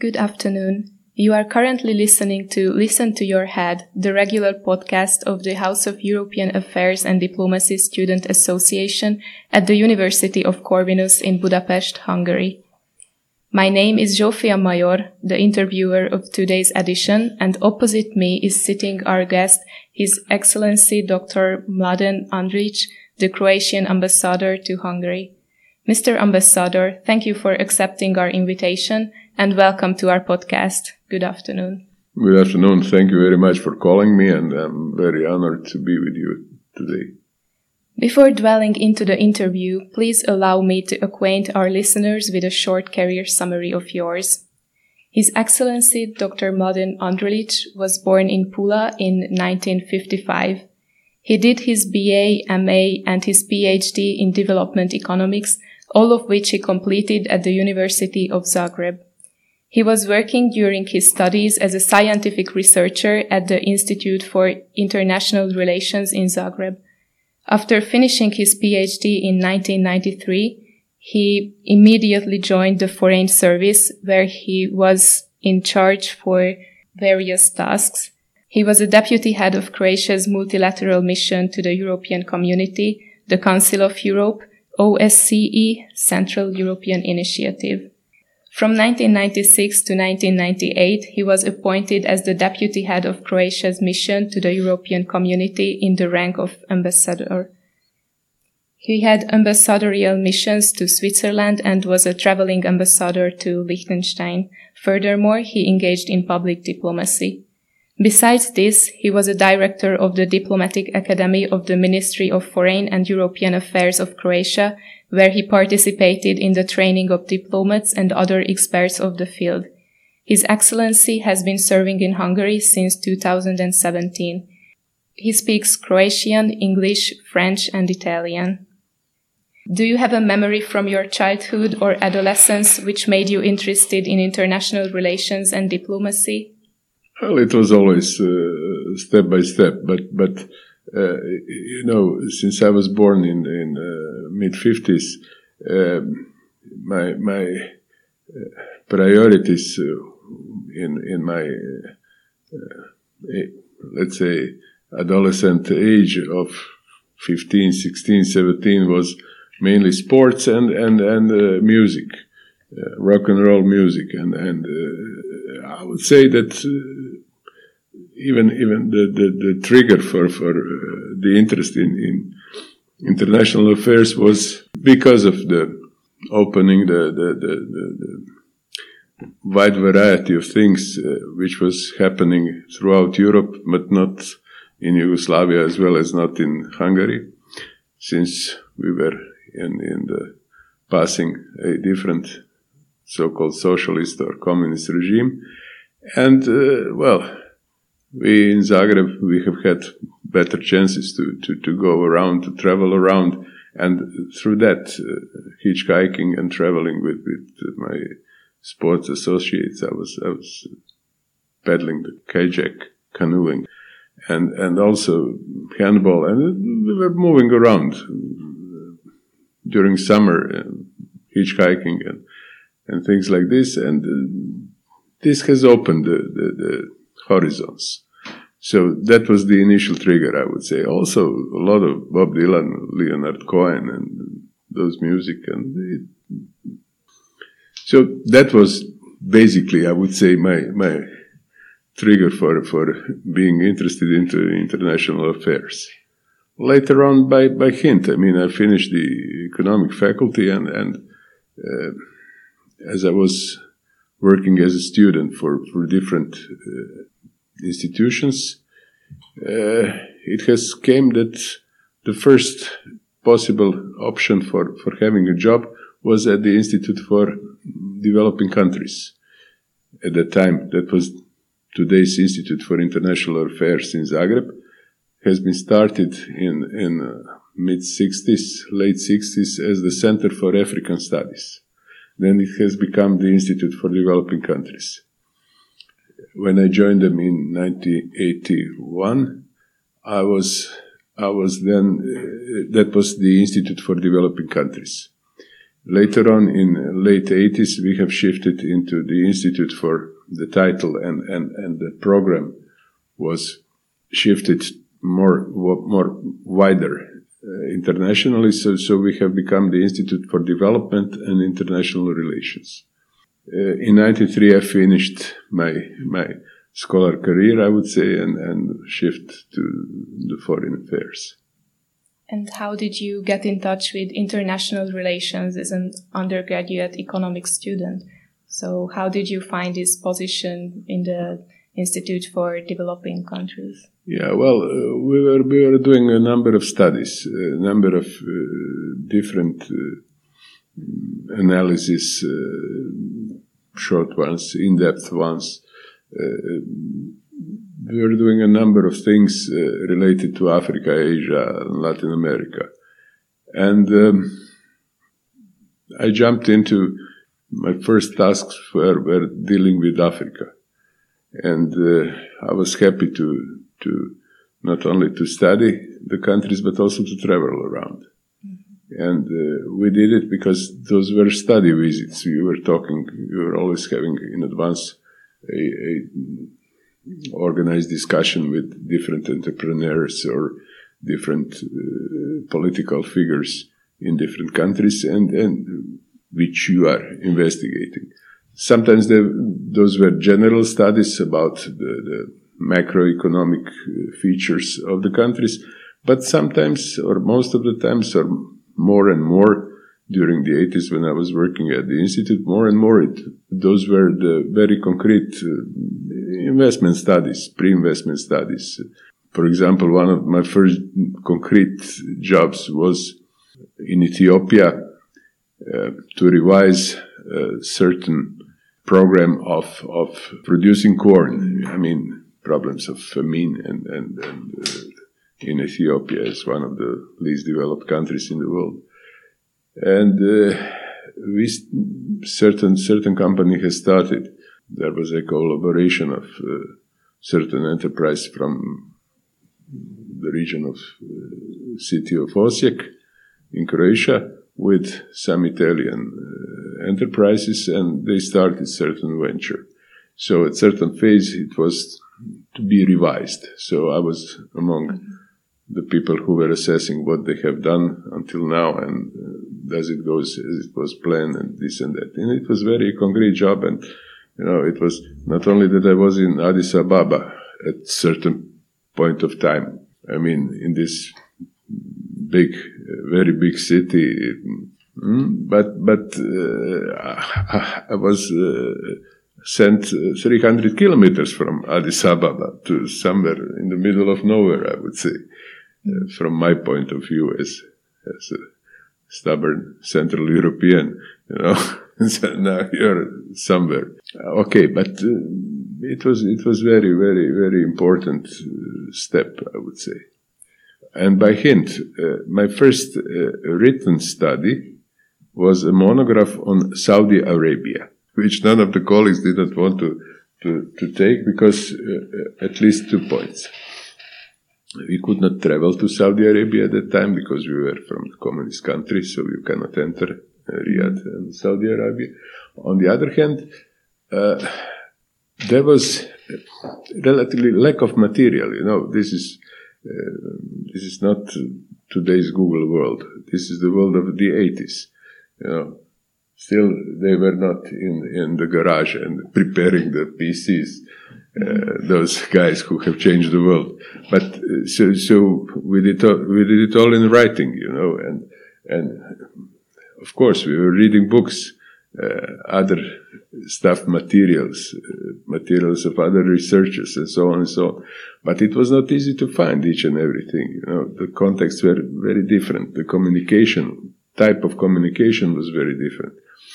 Good afternoon. You are currently listening to Listen to Your Head, the regular podcast of the House of European Affairs and Diplomacy Student Association at the University of Corvinus in Budapest, Hungary. My name is Zsófia Major, the interviewer of today's edition, and opposite me is sitting our guest, His Excellency Dr. Mladen Andrić, the Croatian ambassador to Hungary. Mr. Ambassador, thank you for accepting our invitation and welcome to our podcast. Good afternoon. Good afternoon. Thank you very much for calling me, and I'm very honored to be with you today. Before dwelling into the interview, please allow me to acquaint our listeners with a short career summary of yours. His Excellency Dr. Mladen Andrić was born in Pula in 1955. He did his BA, MA, and his PhD in development economics, all of which he completed at the University of Zagreb. He was working during his studies as a scientific researcher at the Institute for International Relations in Zagreb. After finishing his PhD in 1993, he immediately joined the Foreign Service, where he was in charge for various tasks. He was a deputy head of Croatia's multilateral mission to the European Community, the Council of Europe, OSCE, Central European Initiative. From 1996 to 1998, he was appointed as the deputy head of Croatia's mission to the European Community in the rank of ambassador. He had ambassadorial missions to Switzerland and was a traveling ambassador to Liechtenstein. Furthermore, he engaged in public diplomacy. Besides this, he was a director of the Diplomatic Academy of the Ministry of Foreign and European Affairs of Croatia, where he participated in the training of diplomats and other experts of the field. His Excellency has been serving in Hungary since 2017. He speaks Croatian, English, French, and Italian. Do you have a memory from your childhood or adolescence which made you interested in international relations and diplomacy? Well, it was always step by step, but since I was born in mid-50s, my priorities in my let's say adolescent age of 15, 16, 17 was mainly sports and music, rock and roll music, and I would say that even the trigger for the interest in international affairs was because of the opening the wide variety of things which was happening throughout Europe, but not in Yugoslavia as well as not in Hungary, since we were in the passing a different so-called socialist or communist regime. And, we in Zagreb, we have had better chances to go around, to travel around. And through that, hitchhiking and traveling with my sports associates, I was paddling the kajak, canoeing, and also handball. And we were moving around during summer, hitchhiking and things like this, and this has opened the horizons. So that was the initial trigger, I would say. Also, a lot of Bob Dylan, Leonard Cohen, and those music, and so that was basically, I would say, my trigger for being interested into international affairs. Later on, by hint, I finished the economic faculty, and as I was working as a student for different institutions, it has came that the first possible option for having a job was at the Institute for Developing Countries. At that time, that was today's Institute for International Affairs in Zagreb, has been started in mid-60s, late 60s as the Center for African Studies. Then it has become the Institute for Developing Countries. When I joined them in 1981, I was then, that was the Institute for Developing Countries. Later on, in late 80s, we have shifted into the Institute for the title, and the program was shifted more wider internationally. So we have become the Institute for Development and International Relations. In 93, I finished my scholar career, I would say, and shift to the foreign affairs. And how did you get in touch with international relations as an undergraduate economics student? So how did you find this position in the Institute for Developing Countries? Yeah, well, we were doing a number of studies, a number of different analysis, short ones, in-depth ones. We were doing a number of things related to Africa, Asia, and Latin America. And I jumped into my first tasks were dealing with Africa. And I was happy to not only to study the countries, but also to travel around. Mm-hmm. And we did it because those were study visits. We were always having in advance a organized discussion with different entrepreneurs or different political figures in different countries, and which you are investigating. Sometimes those were general studies about the macroeconomic features of the countries, but sometimes, or most of the times, or more and more, during the 80s when I was working at the Institute, more and more those were the very concrete investment studies, pre-investment studies. For example, one of my first concrete jobs was in Ethiopia to revise a certain program of producing corn. I mean, problems of famine and in Ethiopia is one of the least developed countries in the world. And certain company has started. There was a collaboration of certain enterprise from the region of city of Osijek in Croatia with some Italian enterprises, and they started certain venture. So at certain phase it was to be revised. So I was among the people who were assessing what they have done until now, and does it go as it was planned, and this and that. And it was very concrete job, and it was not only that I was in Addis Ababa at certain point of time. I mean, in this big, very big city, but I was sent 300 kilometers from Addis Ababa to somewhere in the middle of nowhere, I would say, from my point of view as a stubborn Central European, So now you're somewhere. Okay, but it was very, very, very important step, I would say. And by hint, my first written study was a monograph on Saudi Arabia, which none of the colleagues did not want to take because at least 2 points. We could not travel to Saudi Arabia at that time because we were from the communist country, so you cannot enter Riyadh and Saudi Arabia. On the other hand, there was relatively lack of material. This is not today's Google world. This is the world of the 80s. Still they were not in the garage and preparing the PCs. Those guys who have changed the world, but so we did it all in writing, and of course we were reading books, other stuff, materials of other researchers, and so on and so on. But it was not easy to find each and everything. The contexts were very different. The type of communication was very different.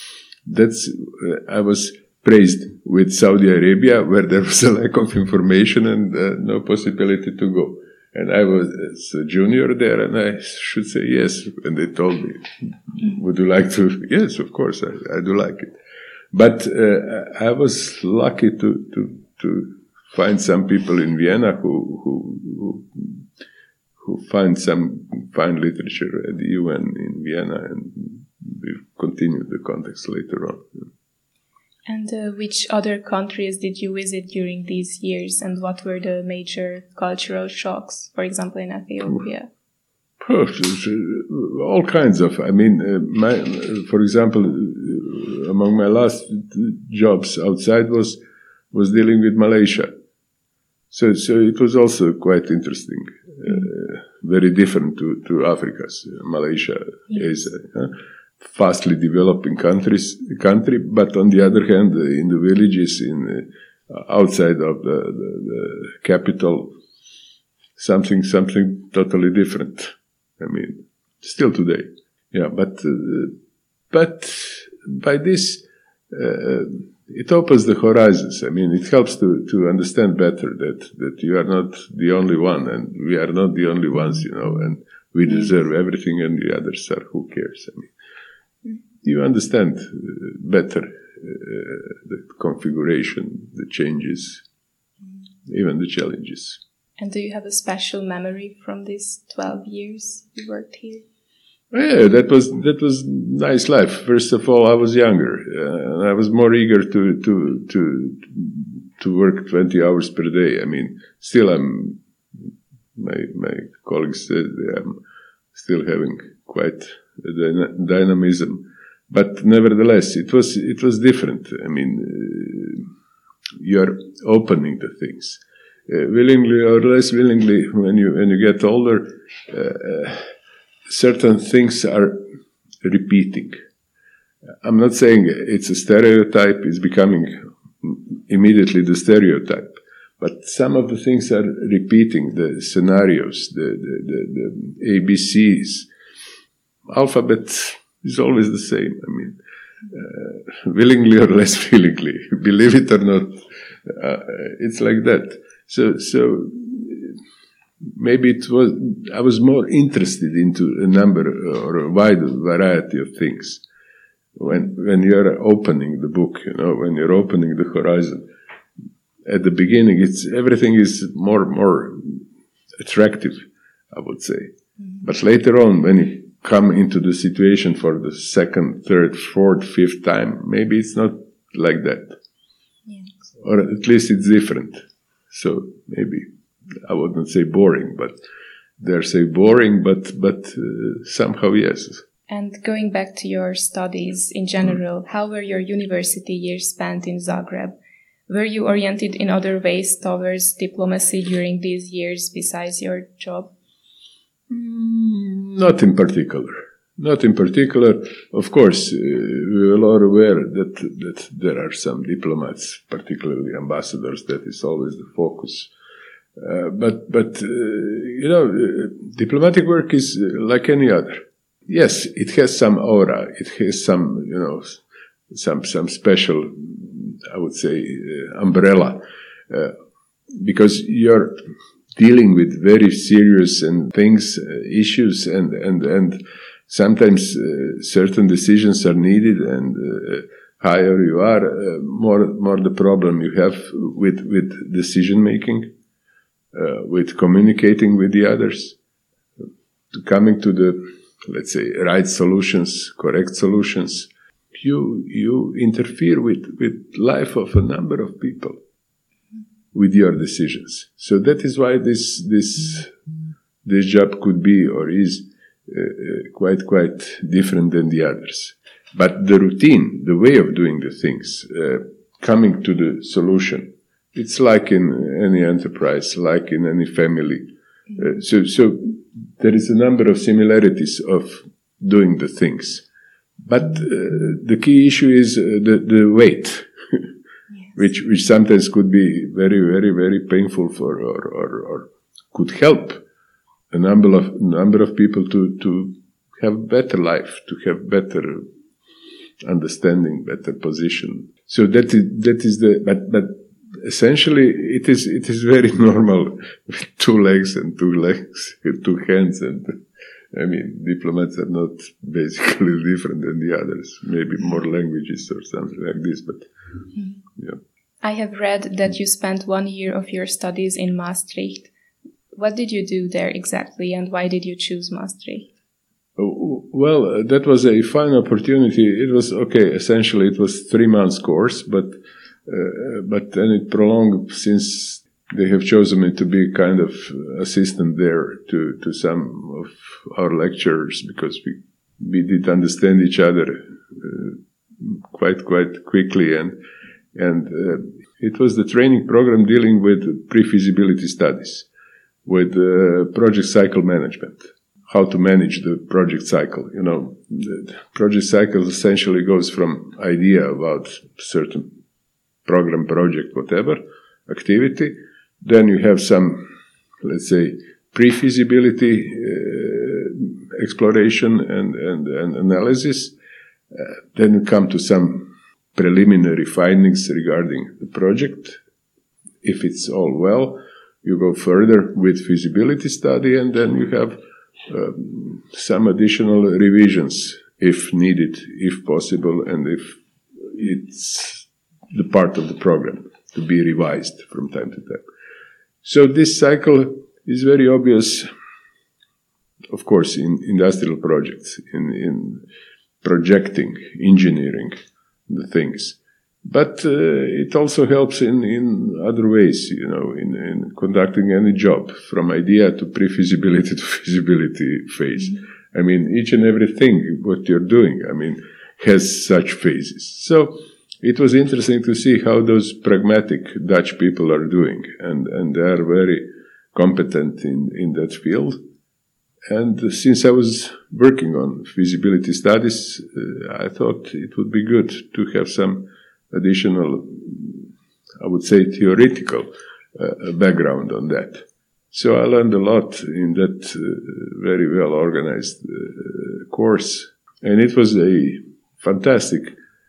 I was praised with Saudi Arabia, where there was a lack of information and no possibility to go. And I was a junior there, and I should say yes. And they told me, would you like to? Yes, of course, I do like it. But I was lucky to find some people in Vienna who find some fine literature at the UN in Vienna, and we continued the contacts later on. And which other countries did you visit during these years, and what were the major cultural shocks, for example, in Ethiopia? All kinds of. I mean, for example, among my last jobs outside was dealing with Malaysia. So it was also quite interesting. Very different to Africa's. Malaysia is a fastly developing country, but on the other hand, in the villages, outside of the capital, something totally different. I mean, still today, yeah. But by this, it opens the horizons. I mean, it helps to understand better that you are not the only one, and we are not the only ones, and we deserve everything, and the others are who cares. I mean, you understand better the configuration, the changes, even the challenges. And do you have a special memory from these 12 years you worked here? Yeah, that was nice life. First of all, I was younger, and I was more eager to work 20 hours per day. I mean, still my colleagues said I'm still having quite a dynamism, but nevertheless, it was different. I mean, you're opening the things. Willingly or less willingly, when you get older, certain things are repeating. I'm not saying it's a stereotype; it's becoming immediately the stereotype. But some of the things are repeating. The scenarios, the ABCs, alphabet is always the same. I mean, willingly or less willingly, believe it or not, it's like that. So maybe I was more interested into a number or a wide variety of things when you're opening the book, when you're opening the horizon. At the beginning, everything is more attractive, I would say. But later on, when you come into the situation for the second, third, fourth, fifth time, maybe it's not like that. Yes. Or at least it's different. So maybe I wouldn't say boring, but they're say boring, but somehow yes. And going back to your studies in general, how were your university years spent in Zagreb? Were you oriented in other ways towards diplomacy during these years besides your job? Not in particular. Not in particular. Of course, we are all aware that there are some diplomats, particularly ambassadors, that is always the focus. But diplomatic work is like any other. Yes, it has some aura. It has some, some special, I would say, umbrella, because you're dealing with very serious issues, and sometimes certain decisions are needed, and higher you are, more the problem you have with decision making, with communicating with the others, coming to the, let's say, right solutions, correct solutions. You interfere with life of a number of people with your decisions. So that is why this job could be or is quite different than the others. But the routine, the way of doing the things, coming to the solution, it's like in any enterprise, like in any family. So there is a number of similarities of doing the things. But the key issue is the weight, yes. which sometimes could be very, very, very painful for or could help a number of people to have better life, to have better understanding, better position. So that is but essentially it is very normal with 2 legs and 2 legs, 2 hands, and I mean, diplomats are not basically different than the others. Maybe more languages or something like this, but yeah. I have read that you spent 1 year of your studies in Maastricht. What did you do there exactly, and why did you choose Maastricht? Well, that was a fine opportunity. It was okay. Essentially, it was 3 months course, but then it prolonged since they have chosen me to be kind of assistant there to some of our lecturers, because we did understand each other quite quickly, and it was the training program dealing with pre-feasibility studies, with project cycle management. How to manage the project cycle. The project cycle essentially goes from idea about certain program, project, whatever, activity. Then you have some, let's say, pre-feasibility exploration and analysis. Then you come to some preliminary findings regarding the project. If it's all well, you go further with feasibility study, and then you have some additional revisions if needed, if possible, and if it's the part of the program to be revised from time to time. So this cycle is very obvious, of course, in industrial projects, in projecting, engineering the things. But it also helps in other ways, in conducting any job, from idea to pre-feasibility to feasibility phase. I mean, each and everything what you're doing, has such phases. So it was interesting to see how those pragmatic Dutch people are doing, and they are very competent in that field. And since I was working on feasibility studies, I thought it would be good to have some additional, I would say, theoretical background on that. So I learned a lot in that very well organized course, and it was a fantastic,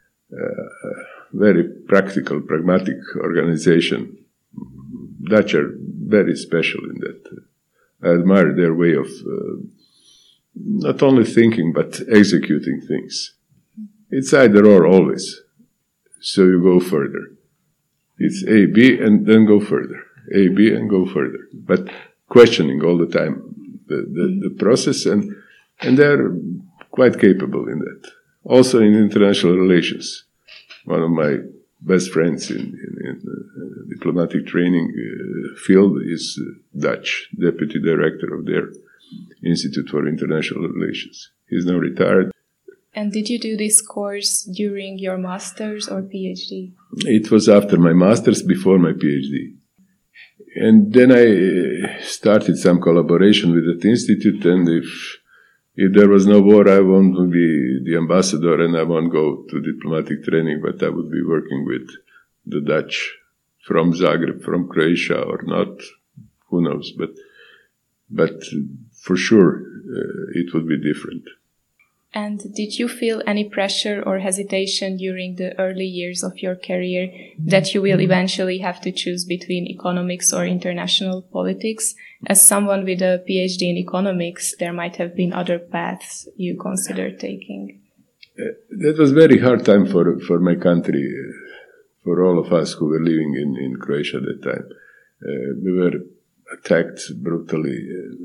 very practical, pragmatic organization. Dutch are very special in that. I admire their way of not only thinking but executing things. It's either or always. So you go further. It's A, B, and then go further. A, B, and go further. But questioning all the time the process, and they're quite capable in that. Also in international relations. One of my best friends in diplomatic training field is Dutch, deputy director of their Institute for International Relations. He's now retired. And did you do this course during your master's or PhD? It was after my master's, before my PhD. And then I started some collaboration with that institute, and if there was no war, I won't be the ambassador and I won't go to diplomatic training, but I would be working with the Dutch from Zagreb, from Croatia, or not, who knows. But for sure, it would be different. And did you feel any pressure or hesitation during the early years of your career that you will eventually have to choose between economics or international politics? As someone with a PhD in economics, there might have been other paths you considered taking. That was a very hard time for my country, for all of us who were living in Croatia at that time. We were attacked brutally.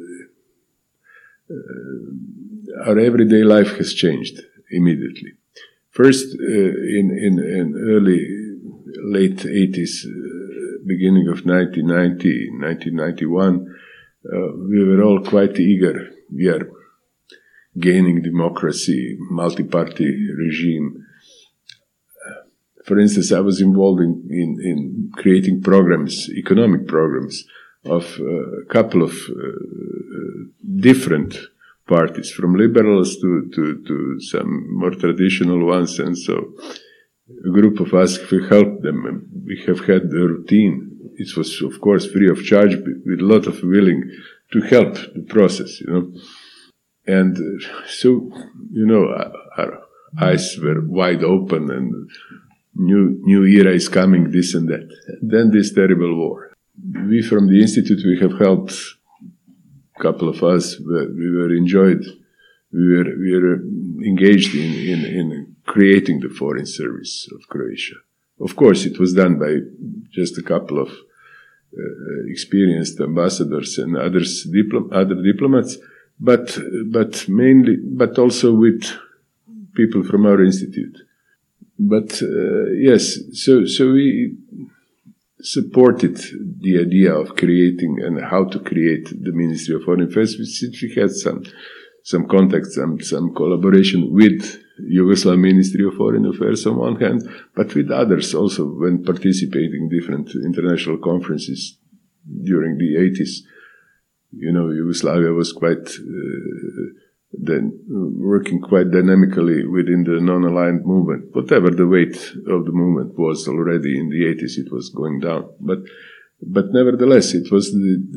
Our everyday life has changed immediately. First, in late 80s, beginning of 1990, 1991, we were all quite eager. We are gaining democracy, multi-party regime. For instance, I was involved in creating programs, economic programs, of a couple of different parties, from liberals to some more traditional ones, and so a group of us, we helped them, and we have had the routine. It was, of course, free of charge, with a lot of willing to help the process, And so, our eyes were wide open, and new era is coming, this and that. And then this terrible war. We from the Institute, we have helped, a couple of us, we were enjoyed, we were engaged in creating the foreign service of Croatia. Of course, it was done by just a couple of experienced ambassadors and other diplomats, but also with people from our institute. But yes, so we supported the idea of creating and how to create the Ministry of Foreign Affairs, since we had some contacts and some collaboration with Yugoslav Ministry of Foreign Affairs on one hand, but with others also when participating in different international conferences during the 80s. Yugoslavia was quite then working quite dynamically within the non-aligned movement. Whatever the weight of the movement was already in the 80s, it was going down. But nevertheless, it was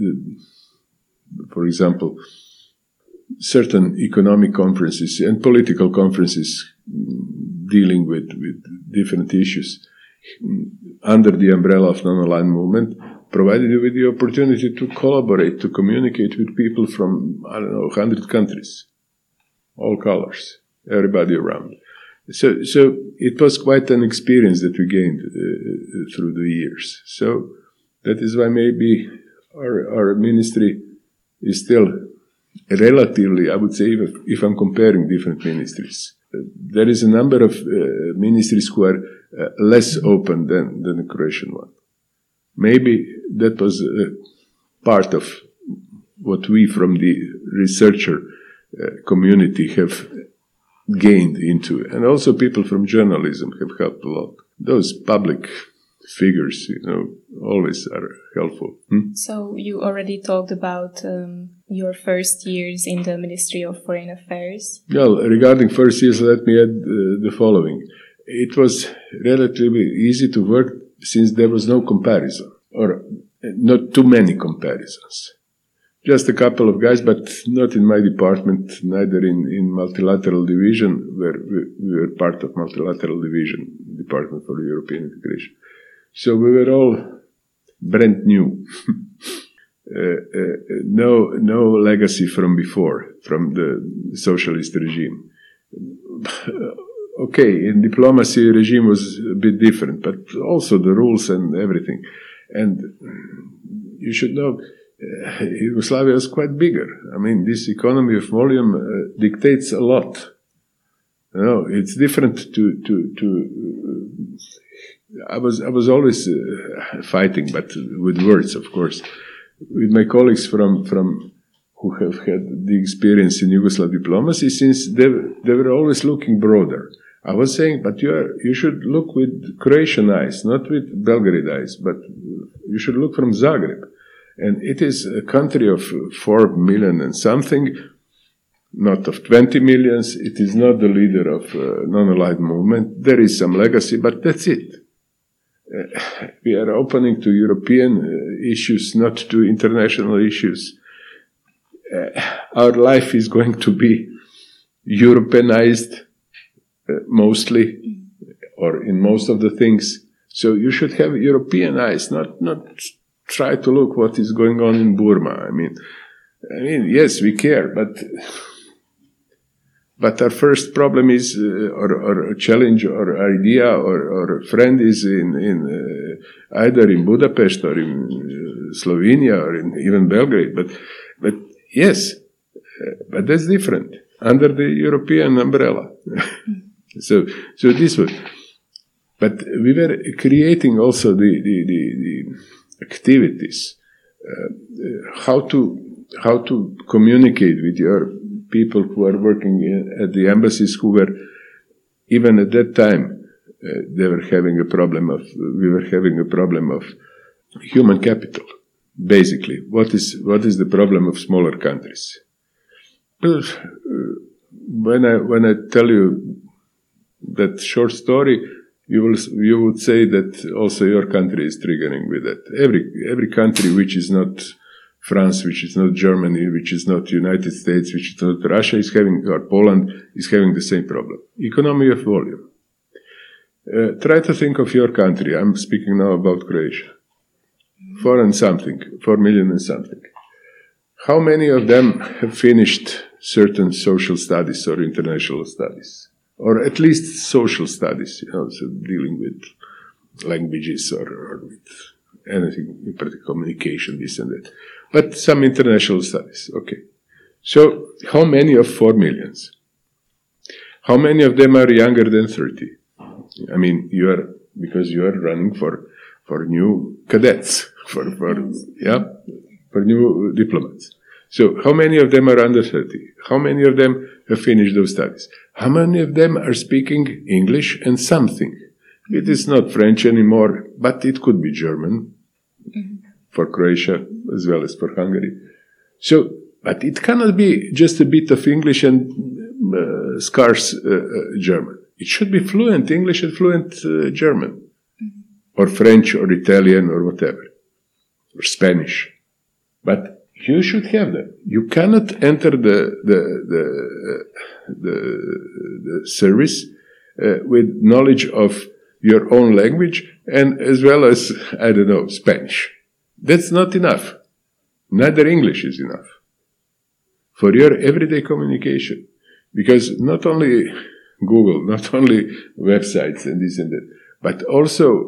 for example, certain economic conferences and political conferences dealing with different issues under the umbrella of non-aligned movement provided you with the opportunity to collaborate, to communicate with people from, 100 countries, all colors, everybody around. So it was quite an experience that we gained through the years. So that is why maybe our ministry is still relatively, I would say, if I'm comparing different ministries, there is a number of ministries who are less open than the Croatian one. Maybe that was part of what we from the researcher community have gained into. And also people from journalism have helped a lot. Those public figures, always are helpful. So you already talked about your first years in the Ministry of Foreign Affairs. Well, regarding first years, let me add the following. It was relatively easy to work since there was no comparison, or not too many comparisons. Just a couple of guys, but not in my department, neither in multilateral division, where we were part of multilateral division, Department for European Integration. So we were all brand new. No legacy from before, from the socialist regime. Okay, in diplomacy, regime was a bit different, but also the rules and everything. And you should know, Yugoslavia was quite bigger. I mean, this economy of volume dictates a lot. It's different to I was always fighting, but with words, of course, with my colleagues from who have had the experience in Yugoslav diplomacy, since they were always looking broader. I was saying, but you should look with Croatian eyes, not with Belgrade eyes, but you should look from Zagreb. And it is a country of 4 million and something, not of 20 millions. It is not the leader of non-aligned movement. There is some legacy, but that's it. We are opening to European issues, not to international issues. Our life is going to be Europeanized mostly, or in most of the things. So you should have European eyes, not try to look what is going on in Burma. I mean, yes, we care, but our first problem is, or a challenge, or idea, or friend is in either in Budapest or in Slovenia or in even Belgrade. But yes, but that's different under the European umbrella. So this was. But we were creating also the activities, how to communicate with your people who are working at the embassies, who were, even at that time, we were having a problem of human capital. Basically, what is the problem of smaller countries? When I tell you that short story, you would say that also your country is triggering with that. Every country which is not France, which is not Germany, which is not United States, which is not Russia, is having, or Poland, is having the same problem. Economy of volume. Try to think of your country. I'm speaking now about Croatia. 4 million and something. How many of them have finished certain social studies or international studies? Or at least social studies, so dealing with languages or with anything, in particular communication, this and that. But some international studies, okay. So, how many of 4 millions? How many of them are younger than 30? I mean, because you are running for new cadets, for new diplomats. So, how many of them are under 30? How many of them have finished those studies? How many of them are speaking English and something? It is not French anymore, but it could be German for Croatia as well as for Hungary. So, but it cannot be just a bit of English and scarce German. It should be fluent English and fluent German, or French, or Italian, or whatever, or Spanish. But you should have them. You cannot enter the service with knowledge of your own language and as well as, I don't know, Spanish. That's not enough. Neither English is enough for your everyday communication. Because not only Google, not only websites and this and that, but also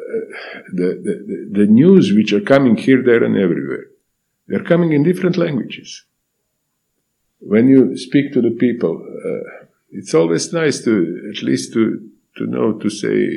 the news which are coming here, there, and everywhere. They're coming in different languages. When you speak to the people, it's always nice to at least to know to say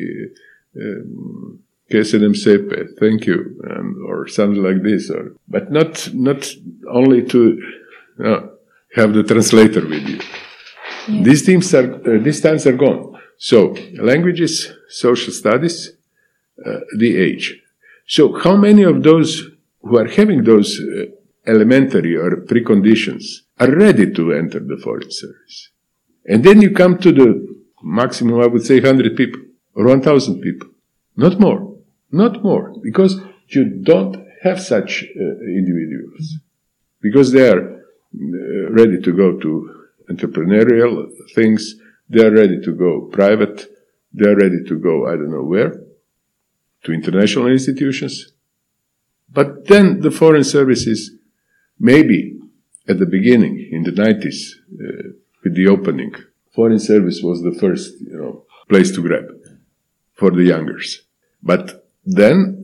"Que se dem sepe," thank you, or something like this, but not only to have the translator with you. Yeah. These times are gone. So, languages, social studies, the age. So, how many of those who are having those elementary or preconditions are ready to enter the foreign service? And then you come to the maximum, I would say, 100 people or 1,000 people. Not more. Not more. Because you don't have such individuals. Because they are ready to go to entrepreneurial things, they are ready to go private, they are ready to go, I don't know where, to international institutions. But then the foreign services, maybe at the beginning, in the 90s, with the opening, foreign service was the first, place to grab for the youngers. But then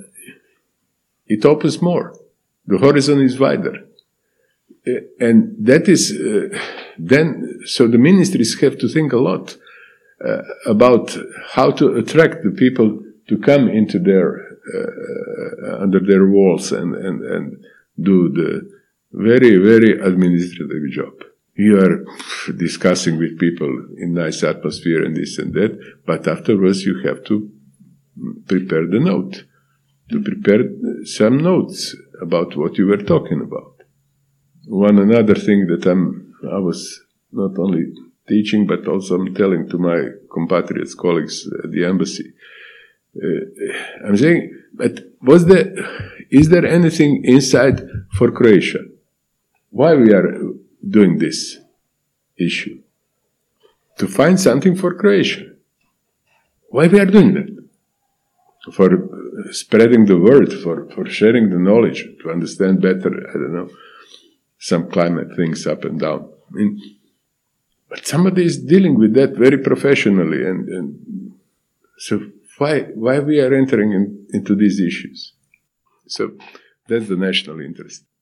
it opens more. The horizon is wider. And that is so the ministries have to think a lot about how to attract the people to come into their under their walls and do the very, very administrative job. You are discussing with people in nice atmosphere and this and that, but afterwards you have to prepare the note, to prepare some notes about what you were talking about. One another thing that I was not only teaching, but also I'm telling to my compatriots, colleagues at the embassy. I'm saying, but is there anything inside for Croatia? Why we are doing this issue? To find something for Croatia. Why we are doing that? For spreading the word, for sharing the knowledge, to understand better, I don't know, some climate things up and down. I mean, but somebody is dealing with that very professionally, and so why we are entering into these issues? So that's the national interest.